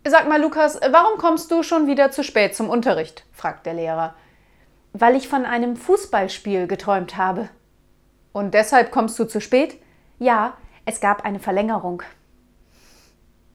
Sag mal, Lukas, warum kommst du schon wieder zu spät zum Unterricht? Fragt der Lehrer. Weil ich von einem Fußballspiel geträumt habe. Und deshalb kommst du zu spät? Ja, es gab eine Verlängerung.